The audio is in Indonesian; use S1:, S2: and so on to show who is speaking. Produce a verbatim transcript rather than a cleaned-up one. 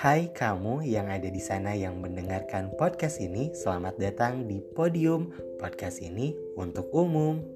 S1: Hai kamu yang ada di sana yang mendengarkan podcast ini, selamat datang di Podium. Podcast ini untuk umum.